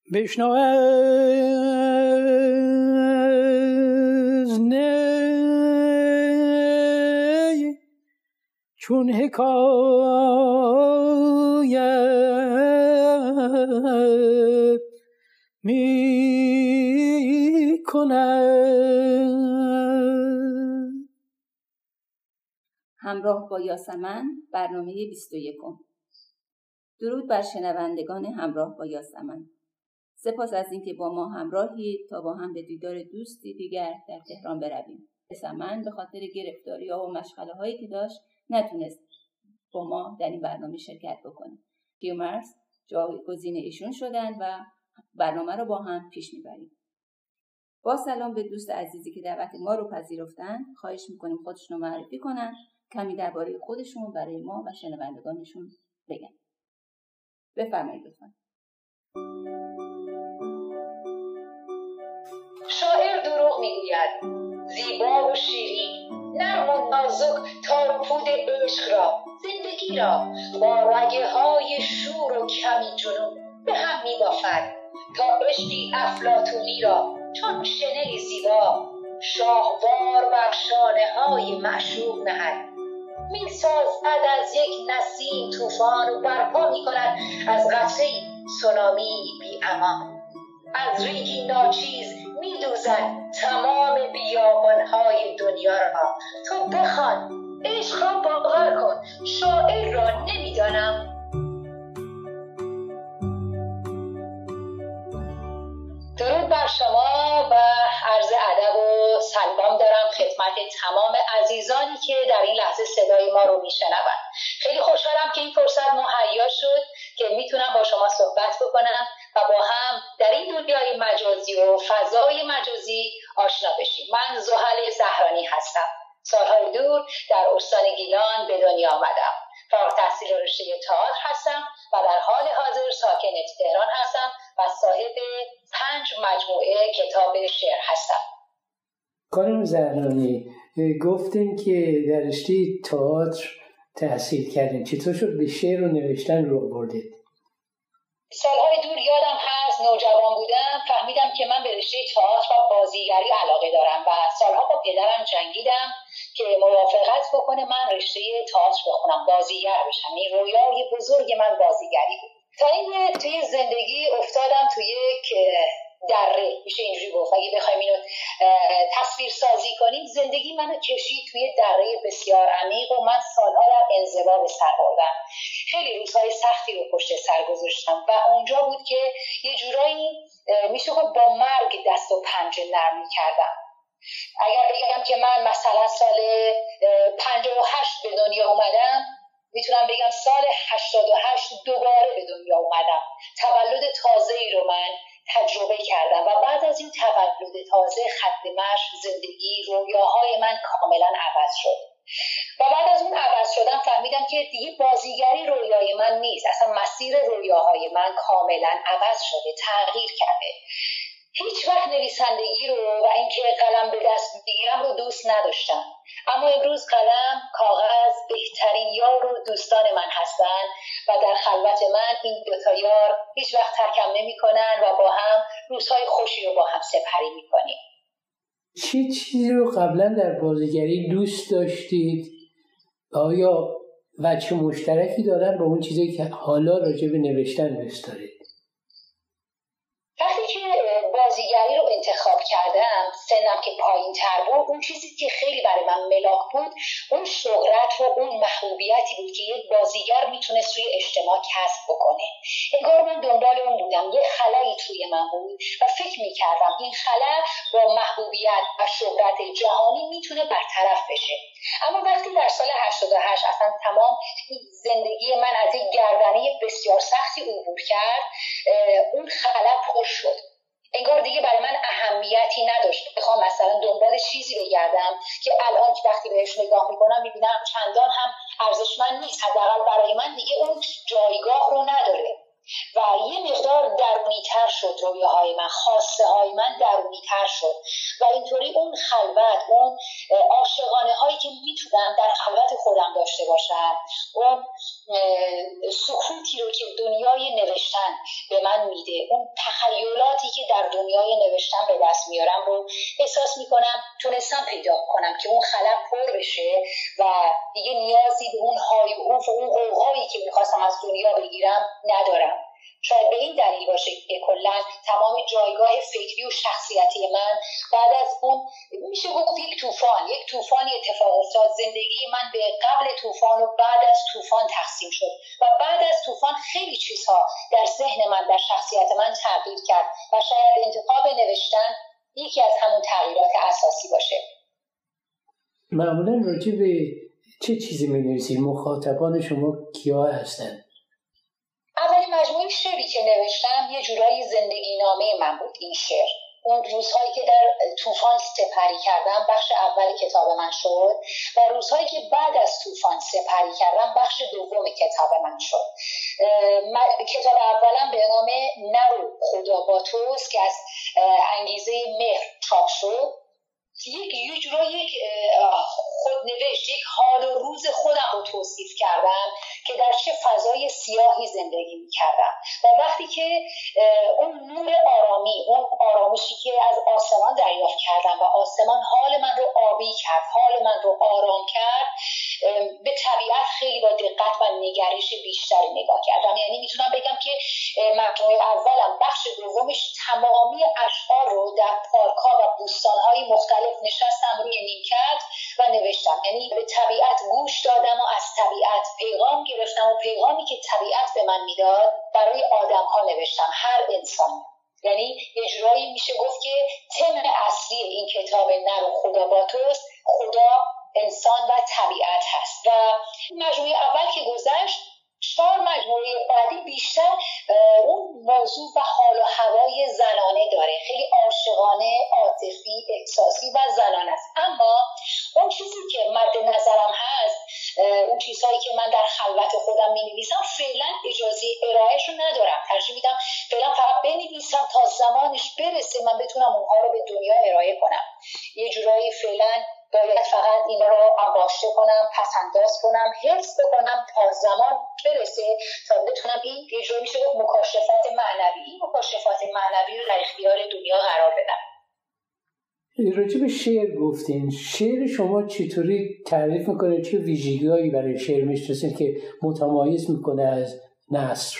بشنو از نی چون حکایت می کند. همراه با یاسمن، برنامه 21. درود بر شنوندگان همراه با یاسمن. سپاس از اینکه با ما همراهید تا با هم به دیدار دوستی دیگر در تهران برویم. یاسمن به خاطر گرفتاری‌ها و مشغله‌هایی که داشت نتونست با ما در این برنامه شرکت بکنه. کیومرث جایگزین ایشون شدن و برنامه رو با هم پیش میبریم. با سلام به دوست عزیزی که دعوت ما رو پذیرفتن، خواهش میکنیم خودشون رو معرفی کنن، کمی درباره خودشون برای ما و شنوندگانشون بگن. بفرمایید لطفاً. شاعر دروغ میگوید، زیبا و شیرین، نرم و نازک تار و پود عشق را، زندگی را با رگه های شور و کمی جنون به هم میبافد تا عشقی افلاطونی را چون شنلی زیبا شاهوار بر شانه های معشوق نهد. میسازد از یک نسیم طوفان و برپا میکند از قطره‌ای سونامی بی امان. از ریگی ناچیز میدوزد تمام بیابانهای دنیا را. تو بخوان، عشق را باور کن، شاعر را نمیدانم. درود بر شما و عرض ادب و سلام دارم خدمت تمام عزیزانی که در این لحظه صدای ما رو میشنوند. خیلی خوشحالم که این فرصت مهیا شد که میتونم با شما صحبت بکنم و با هم در این دنیای مجازی و فضای مجازی آشنا بشیم. من زحل زهرانی هستم. سالهای دور در استان گیلان به دنیا آمدم. فارغ التحصیل رشته تئاتر هستم و در حال حاضر ساکن تهران هستم و صاحب 5 مجموعه کتاب شعر هستم. خانم زهرانی، گفتین که در رشته تئاتر تحصیل کردین. چطور شد به شعر و نوشتن رو بردید؟ سالهای دور یادم هست نوجوان بودم، فهمیدم که من به رشته تئاتر و بازیگری علاقه دارم و سالها با پدرم جنگیدم که موافقت بکنه من رشته تئاتر بخونم، بازیگر بشم. این رویای بزرگ من بازیگری بود. تا اینکه توی زندگی افتادم توی یک دره، میشه اینجوری گفت اگه بخوایم اینو تصویر سازی کنیم، زندگی منو کشید توی دره بسیار عمیق و من سالها در انزوا به سر بردم. خیلی روزهای سختی رو پشت سر گذاشتم و اونجا بود که یه جورایی میشه گفت با مرگ دست و پنجه نرم می‌کردم. اگر بگم که من مثلا سال 58 به دنیا اومدم، میتونم بگم سال 88 دوباره به دنیا اومدم. تولد تازه‌ای رو من تجربه کردم و بعد از این تولد تازه خط مشی، زندگی، رویاهای من کاملا عوض شد. و بعد از اون عوض شدن فهمیدم که دیگه بازیگری رویای من نیست. اصلا مسیر رویاهای من کاملا عوض شده، تغییر کرده. هیچ وقت نویسندگی رو و اینکه قلم به دست بگیرم رو دوست نداشتم، اما امروز قلم، کاغذ بهترین یار و دوستان من هستن و در خلوت من این دوتا یار هیچ وقت ترکم نمی کنن و با هم روزهای خوشی رو با هم سپری می کنیم. چه چیزی رو قبلا در بازیگری دوست داشتید؟ آیا وجه مشترکی دارن با اون چیزی که حالا راجع به نوشتن دوست دارید؟ وقتی که بازیگری رو انتخاب کردم، سنم که پایین تر بود، اون چیزی که خیلی برای من ملاک بود اون شهرت و اون محبوبیتی بود که یک بازیگر میتونست توی اجتماع کسب بکنه. انگار من دنبال اون بودم، یه خلایی توی من بود و فکر میکردم این خلا با محبوبیت و شهرت جهانی میتونه برطرف بشه. اما وقتی در سال 88 اصلا تمام زندگی من از یک گردنه بسیار سختی عبور کرد، اون خلا پر شد. انگار دیگه برای من اهمیتی نداشت بخوام مثلا دنبال چیزی بگردم که الان که وقتی بهش نگاه میکنم میبینم چندان هم ارزشمند نیست. حداقل برای من دیگه اون جایگاه رو نداره و یه مقدار درونی‌تر شد رویاهای من، خواسته های من درونی تر شد و اینطوری اون خلوت، اون عاشقانه هایی که میتونم در خلوت خودم داشته باشم، اون سکوتی رو که دنیای نوشتن به من میده، اون تخیلاتی که در دنیای نوشتن به دست میارم رو احساس میکنم تونستم پیدا کنم که اون خلق پر بشه و دیگه نیازی به اون های و اون قوقایی که میخواستم از دنیا بگیرم ندارم. شاید به این دلیل باشه که کلا تمام جایگاه فکری و شخصیتی من بعد از اون میشه گفت یک طوفانی اتفاق افتاد. زندگی من به قبل طوفان و بعد از طوفان تقسیم شد و بعد از طوفان خیلی چیزها در ذهن من، در شخصیت من تغییر کرد و شاید انتخاب نوشتن یکی از همون تغییرات اساسی باشه. معمولا راجع به چه چیزی می‌نویسید؟ مخاطبان شما کیا هستند؟ اولین مجموعه شعری که نوشتم یه جورایی زندگی نامه من بود. این شعر اون روزهایی که در طوفان سپری کردم بخش اول کتاب من شد و روزهایی که بعد از طوفان سپری کردم بخش دوم کتاب من شد. کتاب اولم به نام نرو خدا با توست که از انگیزه مهر چاپ شد. یک جورایی خودنوشت، یک حال و روز خودم رو توصیف کردم که در چه فضای سیاهی زندگی می‌کردم و وقتی که اون نور آرامی، اون آرامشی که از آسمان دریافت کردم و آسمان حال من رو آبی کرد، حال من رو آرام کرد، به طبیعت خیلی با دقت و نگرش بیشتری نگاه کردم. یعنی میتونم بگم که مجموعه اولم بخش دومش تمامی اشعار رو در پارک‌ها و بوستان‌های مختلف نشستم روی نیمکت و نوشتم. یعنی به طبیعت گوش دادم و از طبیعت پیغام گرفتم و پیغامی که طبیعت به من میداد برای آدم‌ها نوشتم، هر انسان. یعنی یه جورایی میشه گفت که تم اصلی این کتاب نرو خدا با توست، خدا، انسان و طبیعت هست. و مجموعه اول که گذشت، 4 مجموعه بعدی بیشتر اون موضوع و حال و هوای زنانه داره، خیلی عاشقانه، عاطفی، احساسی و زنانه است. اما اون چیزی که مد نظرم هست، اون چیزهایی که من در خلوت خودم می‌نویسم فعلا اجازه ارائهش رو ندارم. ترجیح میدم فعلا فقط بنویسم تا زمانش برسه من بتونم اونها رو به دنیا ارائه کنم. یه جورایی فعلا باید فقط اینا رو انباشته کنم، پس‌انداز کنم، حفظ بکنم تا زمان برسه تا بتونم این یه جوری میشه گفت مکاشفات معنوی رو در اختیار دنیا قرار بدم. راجع به شعر گفتین، شعر شما چطوری تعریف میکنه؟ چه ویژگی‌هایی برای شعر میشناسین که متمایز میکنه از نثر؟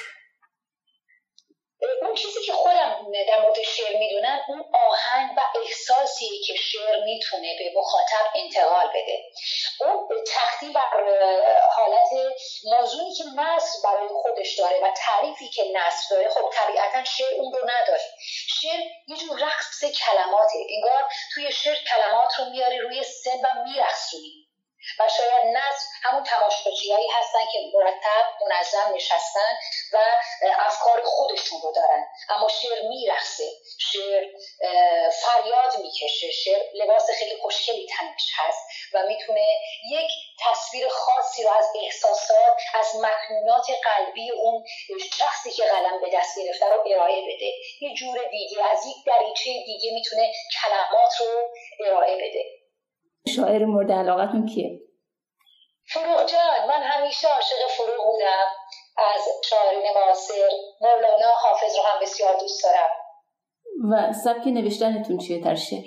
اون چیزی که خودم در مورد شعر میدونم اون آهنگ و احساسی که شعر میتونه به مخاطب انتقال بده، اون تختی بر حالت موضوعی که نثر برای خودش داره و تعریفی که نثر داره. خب طبیعتا شعر اون رو نداره. شعر یه جور رقص کلماته، انگار توی شعر کلمات رو میاری روی سن و میرقصونی و شاید نثر همون تماشاچیایی هستن که مرتب منظم نشستن و افکار خودشون رو دارن، اما شعر میرقصه، شعر فریاد میکشه، شعر لباس خیلی خوشگلی تنش هست و میتونه یک تصویر خاصی رو از احساسات، از مکنونات قلبی اون شخصی که قلم به دست گرفته رو ارائه بده. یه جور دیگه از یک دریچه دیگه میتونه کلمات رو ارائه بده. شاعر مورد علاقتون کیه؟ فروغ جان، من همیشه عاشق فروغ بودم. از شاعران معاصر مولانا، حافظ رو هم بسیار دوست دارم. و سبک نوشتنتون چیه در شعر؟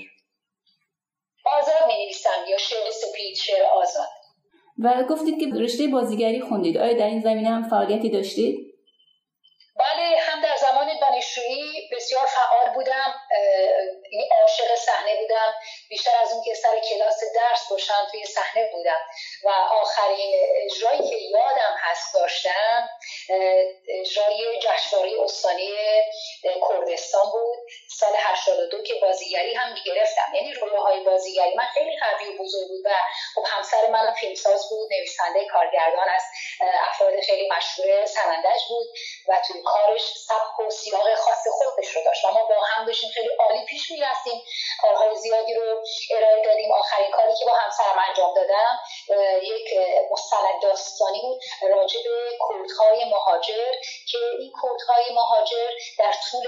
آزاد می‌نویسم یا شعر سپید، شعر آزاد. و گفتید که رشته بازیگری خوندید. آیا در این زمینه هم فعالیتی داشتید؟ بله، هم در زمان دانشجویی بسیار فعال بودم، عاشق صحنه بودم. بیشتر از اون که سر کلاس درس باشم توی صحنه بودم و آخرین اجرایی که یادم هست داشتم اجرای جشنواره استانی کردستان بود سال 82 که بازیگری هم گرفتم. یعنی رویاهای بازیگری من خیلی قوی و بزرگ بود و خب همسر من فیلمساز بود، نویسنده، کارگردان، از افراد خیلی مشهور سنندج بود و توی کارش سبک و سیاق خاص خودش رو داشت و ما با هم داشتیم خیلی عالی پیش می‌رفتیم. کارهای زیادی رو ارائه دادیم. آخرین کاری که با همسرم انجام دادم یک مستند داستانی بود راجع به کردهای مهاجر که این کردهای مهاجر در طول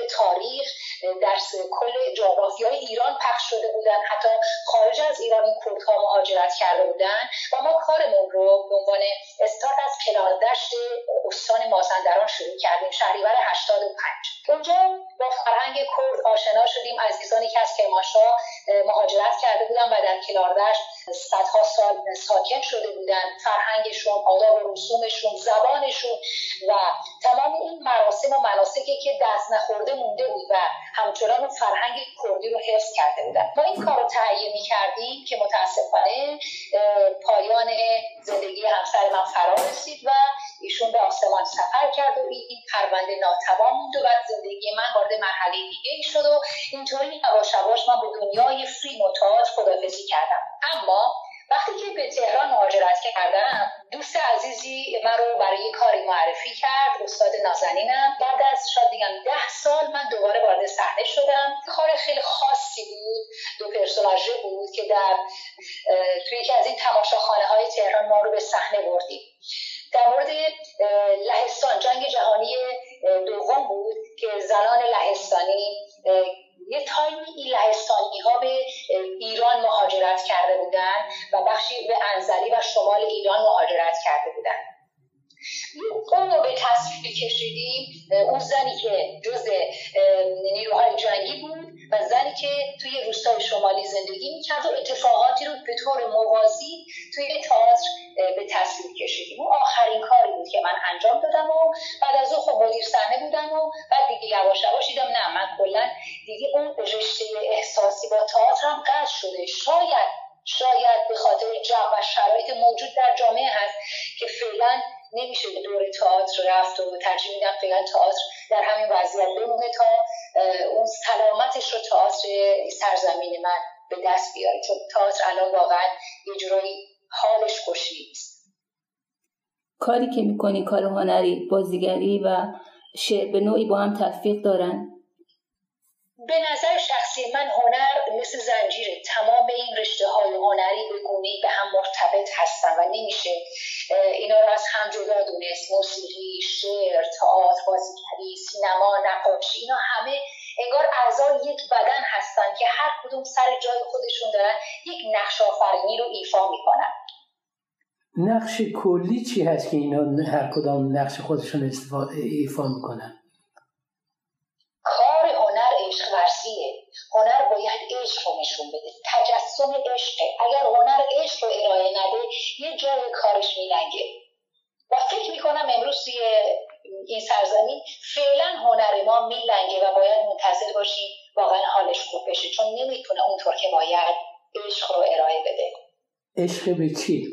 تاریخ در کل جغرافیای ایران پخش شده بودن، حتی خارج از ایران این کردها مهاجرت کرده بودن و ما کارمون رو به عنوان استارت از کناردشت استان مازندران شروع کردیم شهریور 85. اونجا با فرهنگ کرد آشنا شدیم. عزیزانی که از کرمانشاه مهاجرت کرده بودن و در کناردشت صدها سال ساکن شده بودن، فرهنگشون، آداب و رسومشون، زبانشون و تمام این مراسم و مناسکی که دست نخورده مونده بود و همچنان اون فرهنگ کردی رو حفظ کرده بودن. ما این کار رو تهیه می‌کردیم که متاسفانه پایان زندگی همسر من فرا رسید و ایشون به آسمان سفر کرد و این پرونده ناتمام موند و بعد زندگی من وارد مرحله دیگه‌ای شد و اینطوری یواش یواش من به دنیای فیلم و تئاتر خداحافظی کردم. اما وقتی که به تهران مهاجرت کردم، دوست عزیزی من رو برای کاری معرفی کرد، استاد نازنینم. بعد از شاید دیگم 10 سال من دوباره وارد صحنه شدم. کار خیلی خاصی بود، 2 پرسوناژه بود که توی یکی از این تماشاخانه‌های تهران ما رو به صحنه بردیم. در مورد لهستان، جنگ جهانی دوم بود که زنان لهستانی یه تایمی این لهستانی ها به ایران مهاجرت کرده بودن و بخشی به انزلی و شمال ایران مهاجرت کرده بودن. اون رو به تصویر کشیدیم. اون زنی که جز نیروهای جنگی بود و زنی که توی روستای شمالی زندگی میکرد و اتفاقاتی رو به طور موازی توی تئاتر به تصویر کشیدیم. اون آخرین کاری بود که من انجام دادم و بعد از اون خب مدیر صحنه بودم و بعد دیگه یواش یواش دیدم نه، من کلا دیگه اون رشته احساسی با تئاتر هم قطع شده. شاید به خاطر جو و شرایط موجود در جامعه هست که فعلا نمیشه به دور تئاتر رفت و ترجیح میدم فعلا تئاتر در همین وضعیت بمونه تا اون سلامتش رو تئاتر سرزمین من به دست بیاره، چون تئاتر الان واقعا یه جورایی حالش خوشیست. کاری که میکنی، کار هنری، بازیگری و شعر به نوعی با هم تلفیق دارن؟ به نظر شخصی من هنر مثل زنجیره. تمام این رشته‌های هنری به گونه‌ای به هم مرتبط هستن و نمیشه اینا رو از هم جدا دونست. موسیقی، شعر، تئاتر، بازیگری، سینما، نقاشی، اینا همه انگار اعضای یک بدن هستن که هر کدوم سر جای خودشون دارن یک نقش آفرینی رو ایفا میکنن. نقش کلی چی هست که اینا هر کدام نقش خودشون ایفا میکنن؟ کار هنر عشق ورزیه. هنر باید عشق رو نشون بده، تجسم عشقه. اگر هنر عشق رو ارائه نده یه جای کارش میلنگه و فکر میکنم امروز توی این سرزمین فعلا هنر ما میلنگه و باید منتظر باشیم واقعا حالش خوب بشه، چون نمیتونه اونطور که باید عشق رو ارائه بده. عشق به چی؟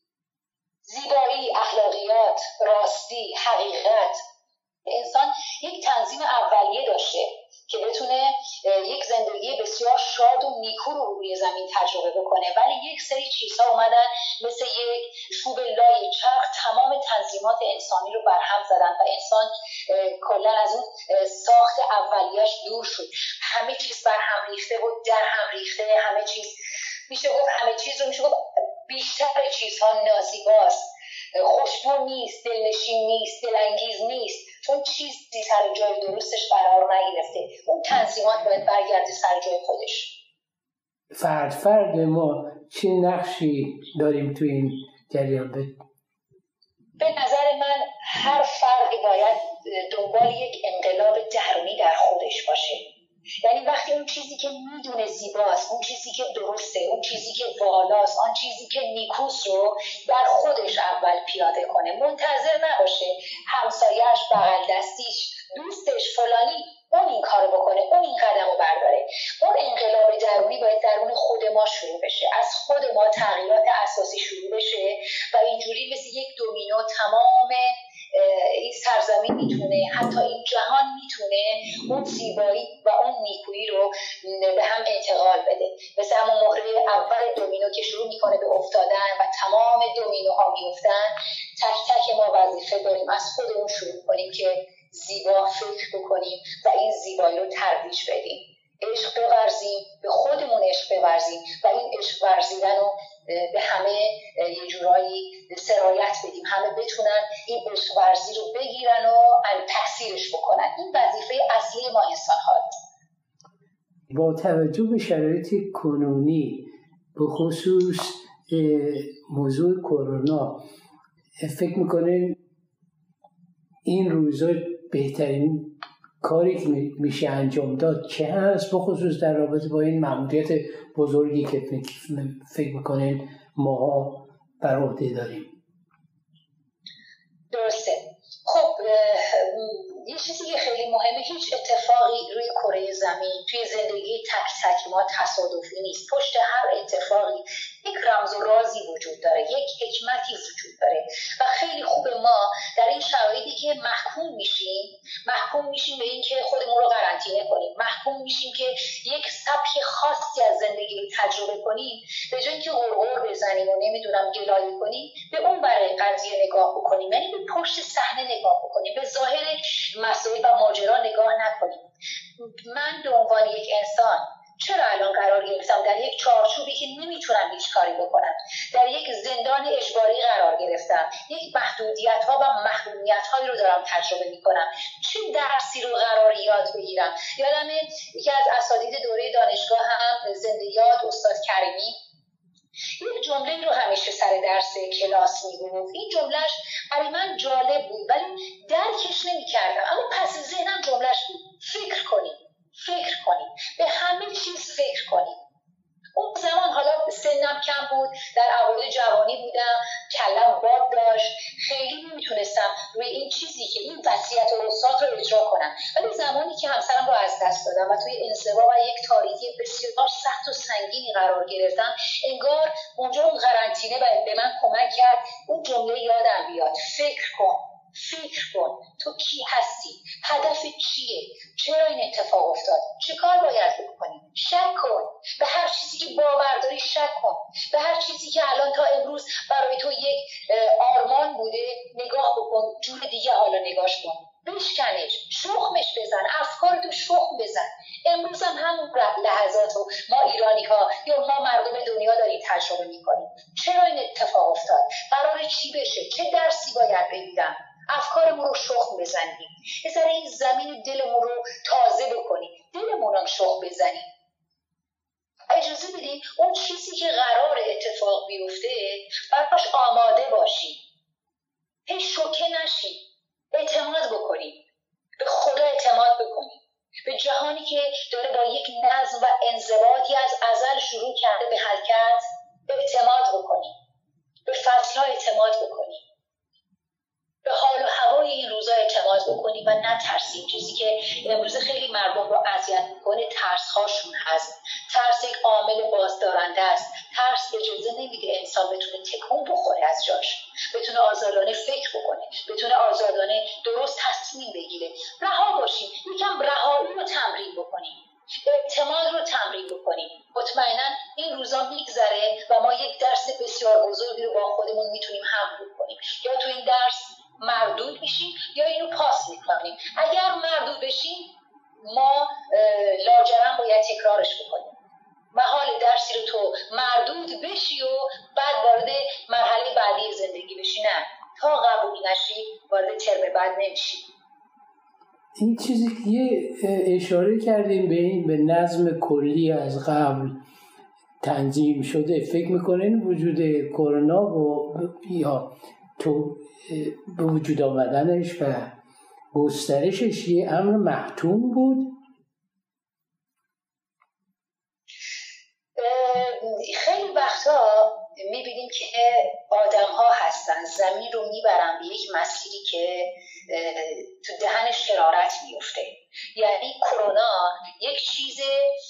زیبایی، اخلاقیات، راستی، حقیقت. انسان یک تنظیم اولیه داشته که بتونه یک زندگی بسیار شاد و نیکو رو روی زمین تجربه بکنه، ولی یک سری چیزها اومدن مثل یک چوب لای چرخ تمام تنظیمات انسانی رو برهم زدن و انسان کلا از اون ساخت اولیه‌اش دور شد. همه چیز برهم ریخته و در هم ریخته. همه چیز میشه گفت بیشتر چیزها نازیباست، خوشبو نیست، دلنشین نیست، دلانگیز نیست، چون چیزی سر جای درستش قرار نگرفته. اون تنظیمات باید برگرده سر جای خودش. فرد ما چه نقشی داریم تو این جریان؟ به نظر من هر فردی باید دنبال یک انقلاب درونی در خودش باشه. یعنی وقتی اون چیزی که میدونه زیباست، اون چیزی که درسته، اون چیزی که والاست، آن چیزی که نیکوست رو در خودش اول پیاده کنه. منتظر نباشه همسایه‌اش، بغل دستیش، دوستش، فلانی اون این کارو بکنه، اون این قدمو برداره. اون انقلاب درونی باید درون خود ما شروع بشه، از خود ما تغییرات اساسی شروع بشه و اینجوری مثل یک دومینو تمام این سرزمین میتونه، حتی این جهان میتونه اون زیبایی و اون نیکویی رو به هم انتقال بده. مثل همون مهره اول دومینو که شروع میکنه به افتادن و تمام دومینوها میافتن، تک تک ما وظیفه داریم از خودمون شروع کنیم که زیبا فکر بکنیم و این زیبایی رو ترویج بدیم. عشق بورزیم، به خودمون عشق بورزیم و این عشق ورزیدن رو به همه یه جورایی سرایت بدیم، همه بتونن این عشق ورزی رو بگیرن و تحصیلش بکنن. این وظیفه اصلی ما انسان هاست. با توجه به شرایط کنونی به خصوص موضوع کرونا، فکر میکنین این روزا بهترین کاری که میشه انجام داد چه هست، به خصوص در رابطه با این مأموریت بزرگی که فکر میکنین ماها بر عهده داریم؟ درسته. خب یه چیزی که خیلی مهمه، هیچ اتفاقی روی کره زمین توی زندگی تک تک ما تصادفی نیست. پشت هر اتفاقی یک رمز و رازی وجود داره، یک حکمتی وجود داره و خیلی خوبه ما در این شرایطی که محکوم میشیم به این که خودمون رو قرنطینه کنیم، محکوم میشیم که یک سبک خاصی از زندگی رو تجربه کنیم، به جای اینکه غرغر بزنیم و نمیدونم گلایه کنیم، به اون برای قضیه نگاه بکنیم، یعنی به پشت صحنه نگاه بکنیم، به ظاهر مسائل و ماجرا نگاه نکنیم. من به عنوان یک انسان چرا الان قرار گرفتم در یک چارچوبی که نمیتونم هیچ کاری بکنم، در یک زندان اجباری قرار گرفتم، یک محدودیت ها و محرومیت هایی رو دارم تجربه میکنم، چه درسی رو قرار یاد بگیرم؟ یادم یکی از اساتید دوره دانشگاه هم زنده یاد استاد کریمی یک جمله رو همیشه سر درس کلاس میگفت. این جملهش برای من جالب بود ولی درکش نمی‌کردم، اما پس ذهنم جملهش بود: فکر کنید، به همه چیز فکر کنید. اون زمان حالا سنم کم بود، در اوایل جوانی بودم، کلم باد داشت، خیلی نمیتونستم روی این چیزی که این وصیت استاد رو اجرا کنم. ولی زمانی که همسرم رو از دست دادم و توی انزوا و یک تاریکی بسیار سخت و سنگینی قرار گرفتم، انگار اونجا اون قرنطینه به من کمک کرد اون جمله یادم بیاد: فکر کن، تو کی هستی؟ هدف چیه؟ چرا این اتفاق افتاد؟ چه کار باید بکنی؟ شک کن، به هر چیزی که باور داری شک کن، به هر چیزی که الان تا امروز برای تو یک آرمان بوده نگاه بکن، جور دیگه حالا نگاش کن، بشکنش، شخمش بزن، افکارتو شخم بزن. امروز هم همون لحظاتو ما ایرانی ها یا ما مردم دنیا داریم تجربه میکنیم. چرا این اتفاق افتاد؟ قراره چی بشه؟ چه درسی باید بگیرم؟ افکارمون رو شخم بزنیم، یه ذره این زمین دلمون رو تازه بکنیم، دلمون هم شخم بزنیم. اجازه بدیم اون چیزی که قرار اتفاق بیفته براش آماده باشیم، هی شوکه نشیم، اعتماد بکنیم، به خدا اعتماد بکنیم، به جهانی که داره با یک نظم و انضباطی از ازل شروع کرده به حرکت اعتماد بکنیم، به فصل‌ها اعتماد بکنیم، به حال و هوای این روزا اعتماد بکنیم و نترسیم. چیزی که امروز خیلی مردم رو اذیت میکنه ترس‌هاشون هست. ترس یک عامل بازدارنده است. ترس اجازه نمیده انسان بتونه تکون بخوره از جاش، بتونه آزادانه فکر بکنه، بتونه آزادانه درست تصمیم بگیره. رها باشیم، یکم رهایی رو تمرین بکنیم، اعتماد رو تمرین بکنیم. مطمئنا این روزا میگذره و ما یک درس بسیار بزرگی رو با خودمون میتونیم حمل کنیم. یا تو این درس مردود میشیم یا اینو پاس میکنیم. اگر مردود بشیم ما لاجرم باید تکرارش بکنیم. محال درسی رو تو مردود بشی و بعد وارد مرحله بعدی زندگی بشی. نه، تا قبول نشی وارد ترم بعد نمیشی. این چیزی که یه اشاره کردیم به نظم کلی از قبل تنظیم شده، فکر میکنین وجود کرونا یا تو به وجود آمدنش و گسترشش یه امر محتوم بود؟ خیلی وقتا میبینیم که آدم ها هستن زمین رو میبرن به یک مسیری که تو دهن شرارت میفته. یعنی کرونا یک چیز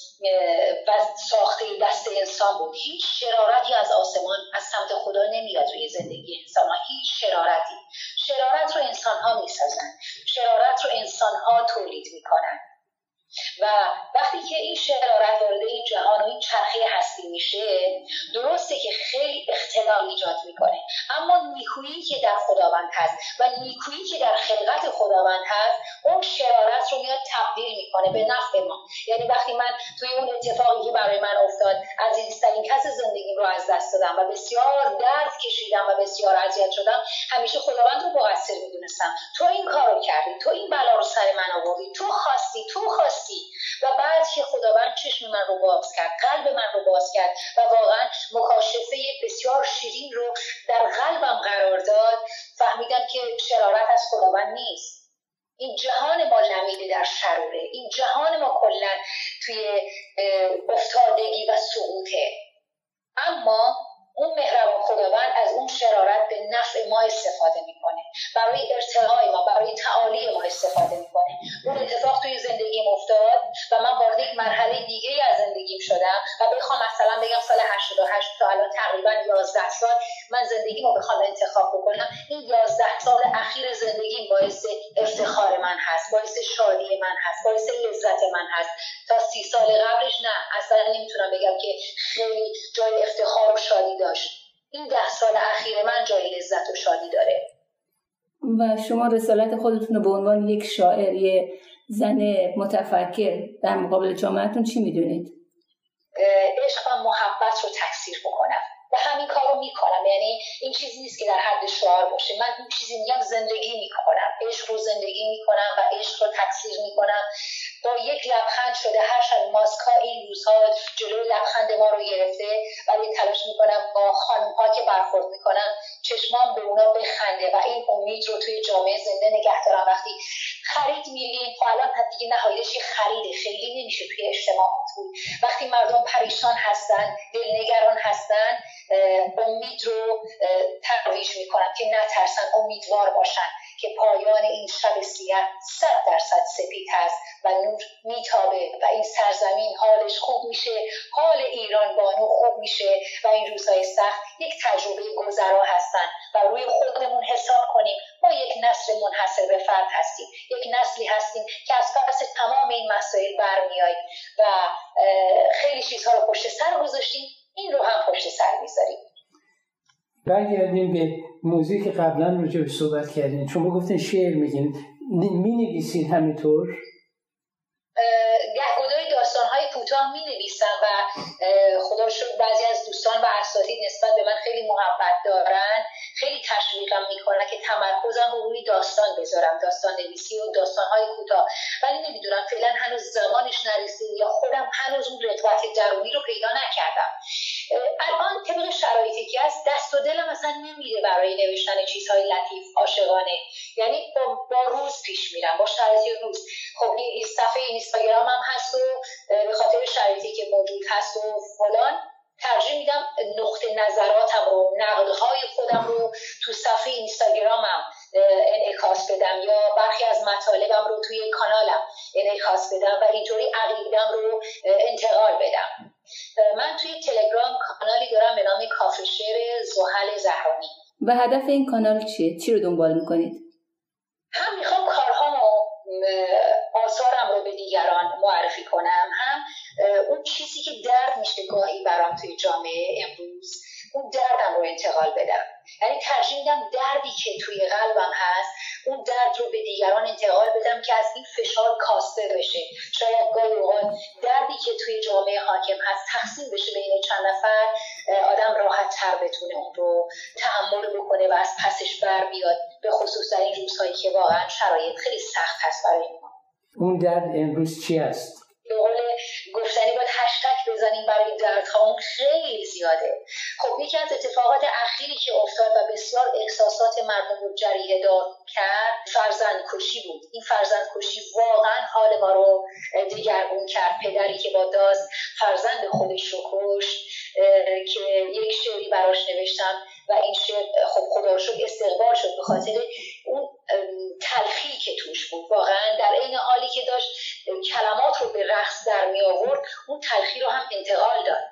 ساخته دست انسان بود. هیچ شرارتی از آسمان از سمت خدا نمیاد روی زندگی انسان ها. هیچ شرارتی. شرارت رو انسان ها میسازن، شرارت رو انسان ها تولید میکنن و وقتی که این شرارت وارد این جهان و این چرخه هستی میشه، درسته که خیلی اختلال ایجاد میکنه، اما نیکویی که در خداوند هست و نیکویی که در خلقت خداوند هست، اون شرارت رو میاد تبدیل میکنه به نفع ما. یعنی وقتی من توی اون اتفاقی که برای من افتاد، عزیزترین کس زندگیم رو از دست دادم و بسیار درد کشیدم و بسیار اذیت شدم، همیشه خداوند رو مقصر میدونستم. تو این کارو کردی، تو این بلا رو سر من آوردی، تو خواستی. و بعد که خداوند چشم من رو باز کرد، قلب من رو باز کرد و واقعا مکاشفه بسیار شیرین رو در قلبم قرار داد، فهمیدم که شرارت از خداوند نیست. این جهان ما لمیده در شروره، این جهان ما کلا توی افتادگی و سقوطه، اما اون مهربان خداوند از اون شرارت به نفع ما استفاده میکنه، برای ارتقای ما، برای تعالی ما استفاده میکنه. اون اتفاق توی زندگیم افتاد و من وارد یک مرحله دیگه از زندگیم شدم و بخوام مثلا بگم سال 88 تا الان تقریبا 11 سال من زندگیمو بخوام انتخاب بکنم، این 11 سال اخیر زندگیم باعث افتخار من هست، باعث شادی من هست، باعث لذت من هست. تا 30 سال قبلش نه، اصلا نمیتونم بگم که خیلی جای افتخار و شادی داشت. این 10 سال اخیر من جای لذت و شادی داره. و شما رسالت خودتون رو به عنوان یک شاعر، یه زن متفکر در مقابل جامعهتون چی میدونید؟ عشق و محبت رو تکثیر بکنم و همین کار رو میکنم. یعنی این چیزی نیست که در حد شعار باشه، من این چیزی میگم زندگی میکنم، عشق رو زندگی میکنم و عشق رو تکثیر میکنم. با یک لبخند شده، هرچند ماسکا این روزها جلوی لبخند ما رو گرفته، ولی تلاش میکنم با خانم‌ها که برخورد میکنم چشمام به اونا بخنده و این امید رو توی جامعه زنده نگه دارم. وقتی خرید میریم، الان دیگه نهایتش خریده، خیلی نمیشه توی اجتماعات بود. وقتی مردم پریشان هستن، دلنگران هستن، امید رو ترویج میکنم که نترسن، امیدوار باشن که پایان این شب سیاه 100% سپید هست و نور میتابه و این سرزمین حالش خوب میشه، حال ایران بانو خوب میشه و این روزهای سخت یک تجربه گذرا هستن و روی خودمون حساب کنیم. ما یک نسل منحصر به فرد هستیم، یک نسلی هستیم که از پس تمام این مسائل برمیاییم و خیلی چیزها رو پشت سر گذاشتیم، این رو هم پشت سر میذاریم. برگردیم به موضوعی که قبلا راجع به صحبت کردین. شما گفتین شعر میگین، مینویسین همینطور؟ گهگداری داستان‌های کوتاه می‌نویسم و خدا رو شکر بعضی از دوستان و اساتید نسبت به من خیلی محبت دارن، خیلی تشویقم میکنن که تمرکزم رو روی داستان بذارم، داستان نویسی و داستان‌های کوتاه. ولی نمیدونم فعلا هنوز زمانش نرسید یا خودم هنوز اون رغبت درونی رو پیدا نکردم. الان طبق شرایطی که هست دست و دلم اصلا نمیره برای نوشتن چیزهای لطیف عاشقانه، یعنی با روز پیش میرم، با شرایط روز. خب این صفحه اینستاگرامم هست و به خاطر شرایطی که موجود هست و فلان ترجیح میدم نقطه نظراتم رو، نقدهای خودم رو تو صفحه اینستاگرامم انعکاس بدم یا برخی از مطالبم رو توی کانالم انعکاس بدم و اینطوری عقیده‌ام رو انتقال بدم. من توی تلگرام کانالی دارم به نام کافه شعر زحل زهرانی. و هدف این کانال چیه؟ چی رو دنبال میکنید؟ هم میخوام کارهامو، آثارم رو به دیگران معرفی کنم، هم اون چیزی که درد میشه گاهی برام توی جامعه امروز، اون دردم رو انتقال بدم. یعنی ترجیح میدم دردی که توی قلبم هست، اون درد رو به دیگران انتقال بدم که از این فشار کاسته بشه. شاید گاهی اوقات دردی که توی جامعه حاکم هست تقسیم بشه بین چند نفر، آدم راحت تر بتونه اون رو تحمل بکنه و از پسش بر بیاد، به خصوص در این روزهایی که واقعا شرایط خیلی سخت هست برای ما. اون درد امروز چی است؟ به قول گفتنی باید هشتگ بزنیم برای دردها، اون خیلی زیاده. خب یکی از اتفاقات اخیری که افتاد و بسیار احساسات مردم رو جریحه دار کرد فرزندکشی بود. این فرزندکشی واقعا حال ما رو دگرگون کرد. پدری که با دزد فرزند خودش رو کشت که یک شعری براش نوشتم و این شعر خب خدا رو شکر استقبال شد به خاطر اون تلخی که توش بود. واقعا در این حالی که داشت کلمات رو به رقص در می آورد، اون تلخی رو هم انتقال داد.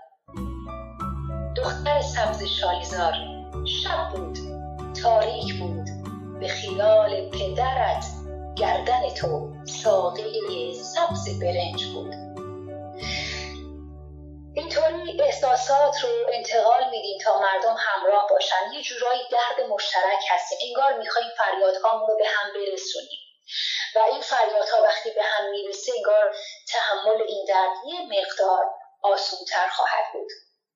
دختر سبز شالیزار، شب بود تاریک بود، به خیال پدرت گردن تو ساقه سبز برنج بود. اینطوری احساسات رو انتقال میدیم تا مردم همراه باشن. یه جورایی درد مشترک هستیم، انگار میخوایم فریادهامون رو به هم برسونیم و این فریادها وقتی به هم میرسه انگار تحمل این درد یه مقدار آسان‌تر خواهد بود.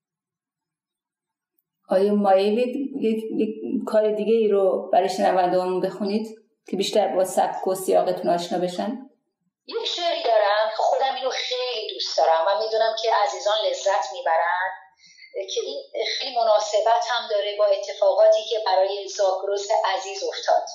آیا مایلید یک کار دیگه ای رو برای شنونده‌هامون بخونید که بیشتر با سبک و سیاقتون آشنا بشن؟ یک شعری دارم که خودم اینو خیلی دوست دارم و میدونم که عزیزان لذت میبرن، که این خیلی مناسبت هم داره با اتفاقاتی که برای زاگرس عزیز افتاد.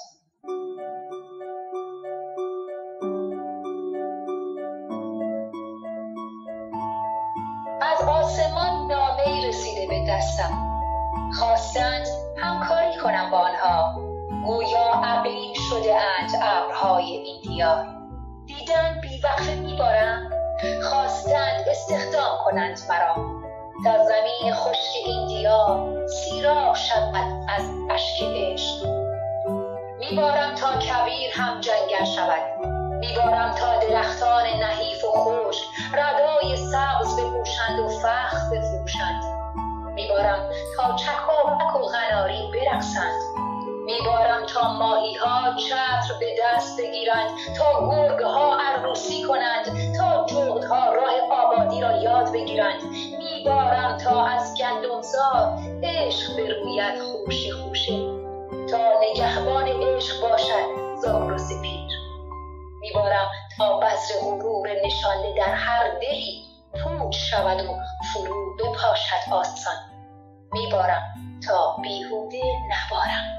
از آسمان نامه‌ای رسیده به دستم، خواستند همکاری کنم با آنها، گویا ابرین شده اند ابرهای این دیار. دیدن بی‌وقفه میبارم، خواستند استخدام کنند مرا، تا زمین خشک این دیار سیراب شود از اشک عشق. میبارم تا کویر هم جنگل شود، میبارم تا درختان نحیف و خشک ردای سبز بپوشند و فخر بفروشند. میبارم تا چکاوک و قناری برقصند، میبارم تا ماهی‌ها چتر به دست بگیرند، تا گرگ‌ها عروسی کنند، تا جغدها راه آبادی را یاد بگیرند. میبارم تا از گندمزار عشق بروید خوشه خوشه، تا نگهبان عشق باشد زاگرس پیر. میبارم تا بذر غرور نشانده در هر دلی پوچ شود و فرو بپاشد آسان. میبارم تا بیهوده نبارم.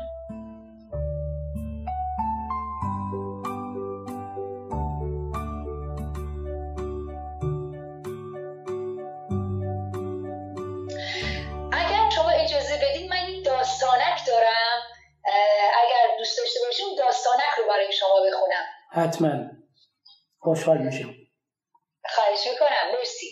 اگر شما اجازه بدید من این داستانک دارم، اگر دوست داشته باشیم داستانک رو برای شما بخونم. حتما خوشحال میشم. خواهش میکنم. مرسی.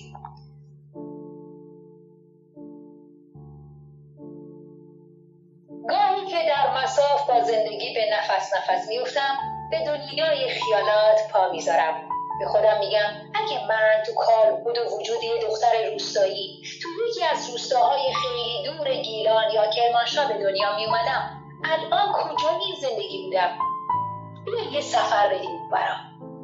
گاهی که در مصاف با زندگی به نفس میفتم، به دنیای خیالات پا میذارم. به خودم میگم اگه من تو کالبد و وجود یه دختر روستایی تو یکی از روستاهای خیلی دور گیلان یا کرمانشاه به دنیا میومدم، الان کجای زندگی بودم؟ بیا یه سفر بدیم برام.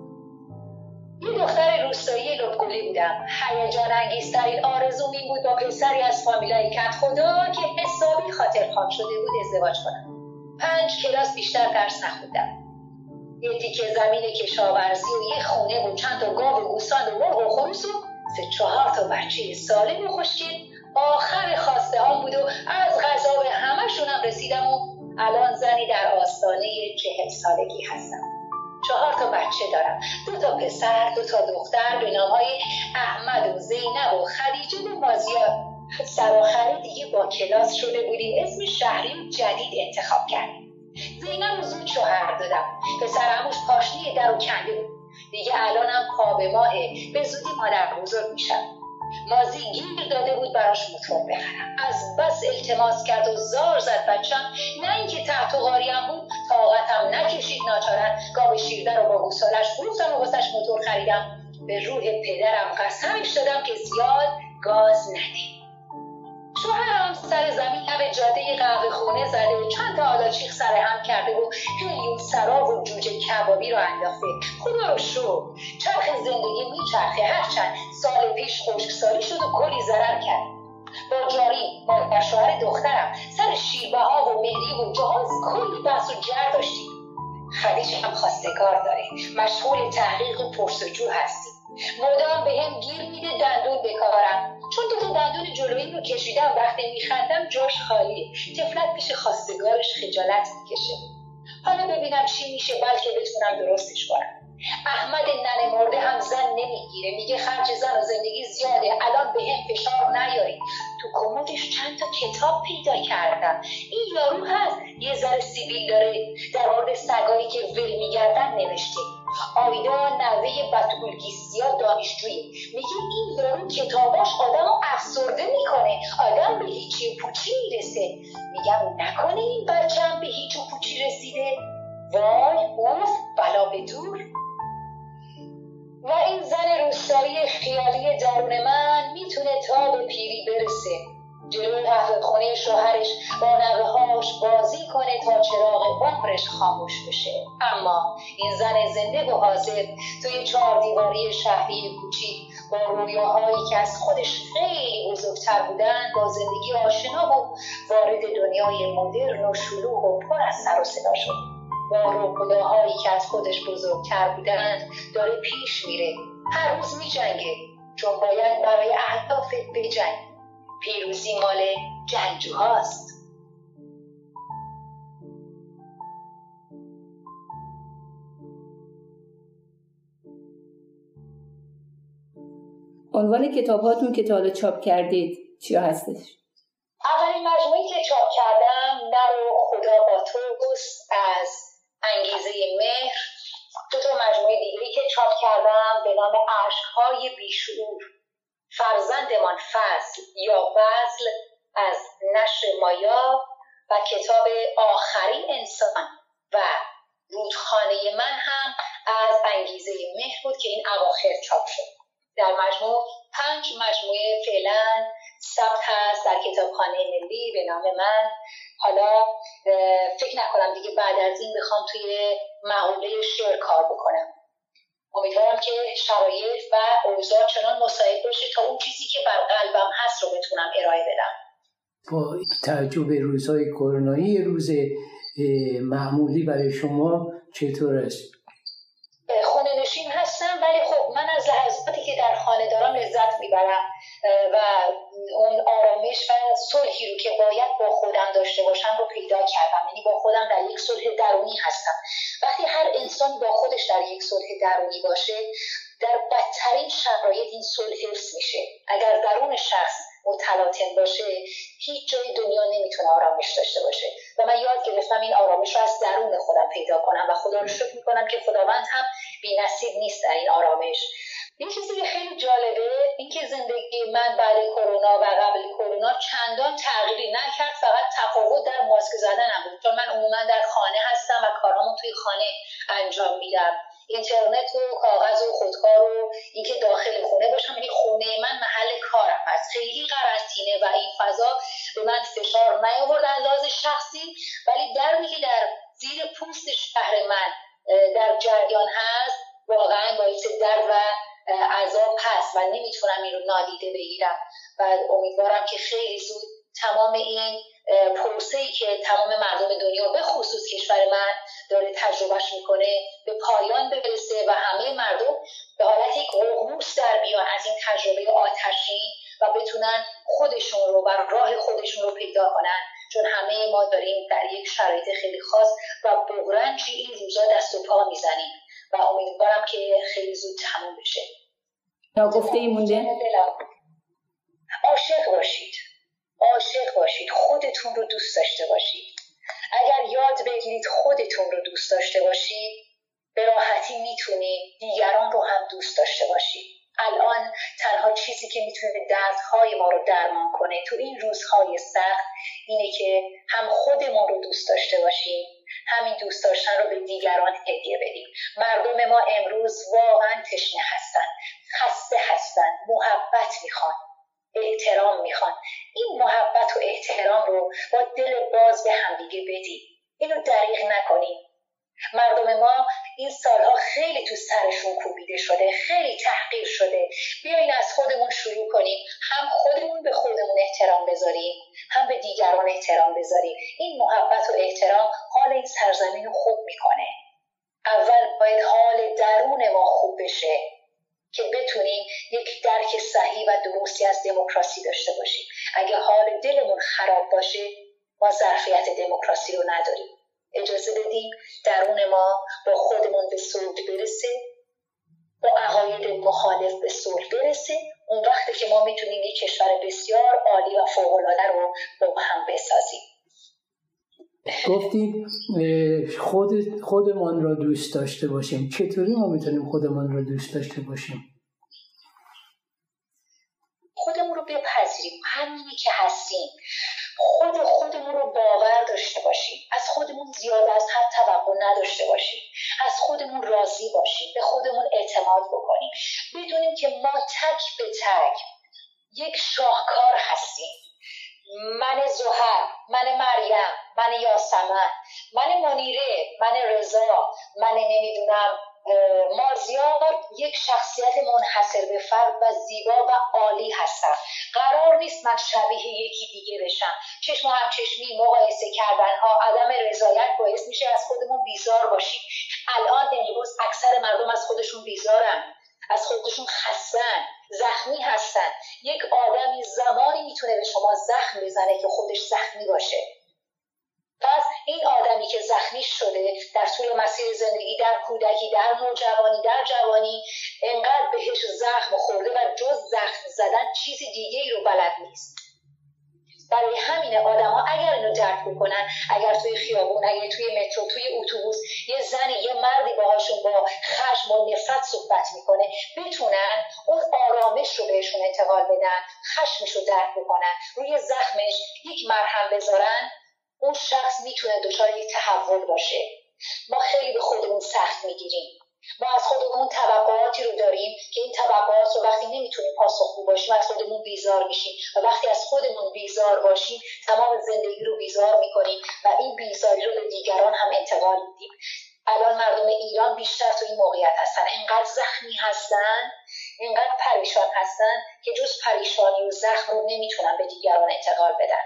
یه دختر روستایی لبگلی بودم. هیجان انگیزترین آرزوم این بود با پسری از فامیلای کت خدا که حسابی خاطرخواه شده بود ازدواج کنم. 5 کلاس بیشتر درس نخوندم. یه تیکه زمین کشاورزی و یه خونه و چند تا گاو و گوسفند و مرغ و خروس و 3-4 تا بچه سالم و خوشگل آخر خواسته ها بود و از غذا به همشونم رسیدم و الان زنی در آستانه 40 سالگی هستم. 4 تا بچه دارم، 2 تا پسر، 2 تا دختر به نامهای احمد و زینب و خدیجه و مازیار. سرآخر دیگه با کلاس شده بودیم اسم شهری جدید انتخاب کردیم. زینب رو زود شوهر دادم. پسر عموش پاشنی در و کنده بود. دیگه الانم پا به ماهه، به زودی مادر بزرگ میشم. مازی گیر داده بود براش موتور بخرم. از بس التماس کرد و زار زد بچم، نه اینکه تحت و قاریم بود، طاقتم نکشید ناچارن گاو شیرده رو با گوسالش فروختم و واسش موتور خریدم. به روح پدرم قسمش دادم که زیاد گاز نده. شوهرم سر زمین لب جاده قهوه خونه زده، چند تا آلاچیق سر هم کرده و هلیوم سراب و جوجه کبابی رو انداخته. خدا رو شکر چرخ زندگی میچرخه. هرچند سال پیش خشکسالی شد و کلی ضرر کرد. با جاری مادر شوهر دخترم سر شیربها و مهری و جهاز کلی بحث و جر داشتیم. خدیجه هم خواستگار داره، مشغول تحقیق و پرسجو هستی. مدام به هم گیر میده دندون بکارم، چون 2 تا دندون جلویی رو کشیدم. وقتی میخندم جاش خالیه. طفلک پیش خواستگارش خجالت میکشه. حالا ببینم چی میشه، بلکه بتونم درستش کنم. احمد ننه مرده هم زن نمیگیره، میگه خرج زن و زندگی زیاده، الان به هم فشار نیاری. تو کمدش چند تا کتاب پیدا کردم. این یارو هست یه ذره سیبیل داره، در مورد سگایی که ول میگردن نوشته. آیدا نوه بتولگیسیا دانشجویی، میگه این یارو کتاباش آدمو افسرده میکنه، آدم به هیچی پوچی میرسه. میگم نکنه این بچه‌م به هیچ و پوچی رسیده؟ وای اوف بلا به دور. و این زن روستایی خیالی درون من میتونه تا به پیری برسه، جلوی قهوه خونه شوهرش با نوه‌هاش بازی کنه تا چراغ عمرش خاموش بشه. اما این زن زنده و حاضر توی 4 دیواری شهری کوچیک با رویاهایی که از خودش خیلی بزرگتر بودن با زندگی آشنا و وارد دنیای مدرن و شلوغ و پر از سر و صدا شد. با رویاهایی که از خودش بزرگتر بودن داره پیش میره، هر روز میجنگه، چون باید برای اهداف بجنگه. پیروزی مال جنگجوهاست. عنوان کتاب‌هاتون که تا حالا چاپ کردید چیا هستش؟ اولین مجموعی که چاپ کردم نر و خدا با توست از انگیزه مهر. 2 مجموعه دیگه‌ای که چاپ کردم به نام اشک‌های بیشعور، فرزندمان فضل یا بذل از نشر مایا و کتاب آخرین انسان و رودخانه من هم از انگیزه مهر بود که این اواخر چاپ شد. در مجموع 5 مجموعه فعلا ثبت هست در کتابخانه ملی به نام من. حالا فکر نکنم دیگه بعد از این بخوام توی مقوله شعر کار بکنم. امیدوارم که شرایط و اوضاع چنان مساعد باشه تا اون چیزی که بر قلبم هست رو بتونم ارائه بدم. با توجه به روزهای کرونایی روز معمولی برای شما چطور است؟ خونه نشین هستم، ولی خب من از لحظاتی که در خانه دارم لذت میبرم و اون آرامش و صلحی رو که باید با خودم داشته باشم رو پیدا کردم. یعنی با خودم در یک صلح درونی هستم. وقتی هر انسان با خودش در یک صلح درونی باشه، در بدترین شرایط این صلح حفظ میشه. اگر درون شخص متلاطم باشه، هیچ جای دنیا نمیتونه آرامش داشته باشه و من یاد گرفتم این آرامش رو از درون خودم پیدا کنم و خدا رو شکر میکنم که خداوند هم بی‌نصیب نیست در این آرامش. یه چیزی که خیلی جالبه اینکه زندگی من بعد کرونا و قبل کرونا چندان تغییری نکرد، فقط تفاوت در ماسک زدنم بود، چون من عموما در خانه هستم و کارامو توی خانه انجام میدم. اینترنت و کاغذ و خودکار و اینکه داخل خونه باشم، یعنی خونه من محل کارم هست. خیلی قرنطینه و این فضا به من فشار نیاورد از لحاظ شخصی، ولی درمی که در زیر پوست شهر من در جریان هست واقعا باعث درد و عذاب هست و نمیتونم این رو نادیده بگیرم و امیدوارم که خیلی زود تمام این پروسه‌ای که تمام مردم دنیا به خصوص کشور من داره تجربهش میکنه به پایان برسه و همه مردم به حالت یک ققنوس در بیان از این تجربه آتشین و بتونن خودشون رو و راه خودشون رو پیدا کنن، چون همه ما داریم در یک شرایط خیلی خاص و بغرنجی این روزا دست و پا میزنیم و امیدوارم که خیلی زود تموم بشه. ناگفته ای مونده؟ عاشق باشید، خودتون رو دوست داشته باشید. اگر یاد بگیرید خودتون رو دوست داشته باشید، به راحتی میتونید دیگران رو هم دوست داشته باشید. الان تنها چیزی که میتونه دردهای ما رو درمان کنه تو این روزهای سخت اینه که هم خودمون رو دوست داشته باشیم، همین دوست داشتن رو به دیگران هدیه بدیم. مردم ما امروز واقعا تشنه هستن، خسته هستن، محبت میخوان، احترام میخوان. این محبت و احترام رو با دل باز به همدیگه بدیم، اینو دریغ نکنیم. مردم ما این سالها خیلی تو سرشون کوبیده شده، خیلی تحقیر شده. بیاین از خودمون شروع کنیم، هم خودمون به خودمون احترام بذاریم، هم به دیگران احترام بذاریم. این محبت و احترام حال این سرزمین رو خوب میکنه. اول باید حال درون ما خوب بشه که بتونیم یک درک صحیح و درستی از دموکراسی داشته باشیم. اگه حال دلمون خراب باشه، ما ظرفیت دموکراسی رو نداریم. اجازه بدیم درون ما با خودمون به صلح برسه، با عقاید مخالف به صلح برسه. اون وقتی که ما میتونیم یک کشور بسیار عالی و فوق‌العاده رو با هم بسازیم. گفتید خودمان را دوست داشته باشیم. چطوری ما میتونیم خودمان را دوست داشته باشیم؟ خودمون رو بپذیریم همینی که هستیم. خودمون رو باور داشته باشیم، از خودمون زیاد از حد توقع نداشته باشیم، از خودمون راضی باشیم، به خودمون اعتماد بکنیم، بدونیم که ما تک به تک یک شاهکار هستیم. من زهر، من مریم، من یاسمن، من منیره، من رضا، من نمیدونم مازیار، یک شخصیت منحصر به فرد و زیبا و عالی هستم. قرار نیست من شبیه یکی دیگه بشم. چشم و همچشمی، مقایسه کردن ها، عدم رضایت باعث میشه از خودمون بیزار باشیم. الان امروز اکثر مردم از خودشون بیزارن، از خودشون خستن، زخمی هستن. یک آدمی زمانی میتونه به شما زخم بزنه که خودش زخمی باشه. پس این آدمی که زخمی شده در طول مسیر زندگی، در کودکی، در نوجوانی، در جوانی، انقدر بهش زخم خورده و جز زخم زدن چیز دیگه ای رو بلد نیست. برای همین آدم ها اگر اینو درک بکنن، اگر توی خیابون، اگر توی مترو، توی اتوبوس یه زنی، یه مردی باهاشون با خشم و نفرت صحبت میکنه، بتونن اون آرامش رو بهشون انتقال بدن، خشمش رو درک بکنن، روی زخمش یک مرهم بذارن، اون شخص میتونه دچار یک تحول باشه. ما خیلی به خودمون سخت میگیریم. ما از خودمون توقعاتی رو داریم که این توقعات رو وقتی نمیتونیم پاسخگو باشیم از خودمون بیزار میشیم و وقتی از خودمون بیزار باشیم تمام زندگی رو بیزار میکنیم و این بیزاری رو به دیگران هم انتقال میدیم. الان مردم ایران بیشتر تو این موقعیت هستن، اینقدر زخمی هستن، اینقدر پریشان هستن که جز پریشانی و زخم رو نمیتونن به دیگران انتقال بدن.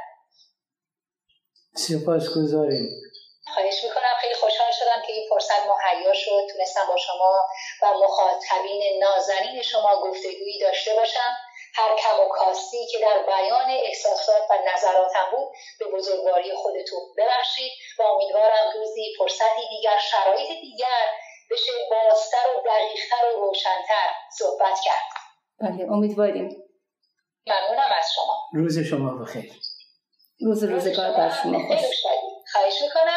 سپاسگزاریم. خواهش میکنم. خیلی خوشحال شدم که این فرصت مهیا شد، تونستم با شما و مخاطبین نازنین شما گفتگویی داشته باشم. هر کم و کاستی که در بیان احساسات و نظراتم بود به بزرگواری خودتون ببخشید و امیدوارم روزی فرصتی دیگر، شرایط دیگر بشه بازتر و دقیقتر و روشنتر صحبت کرد. بله، امیدواریم. ممنونم از شما. روز شما بخیر. روزگار بر شما خوش. خواهش میکنم.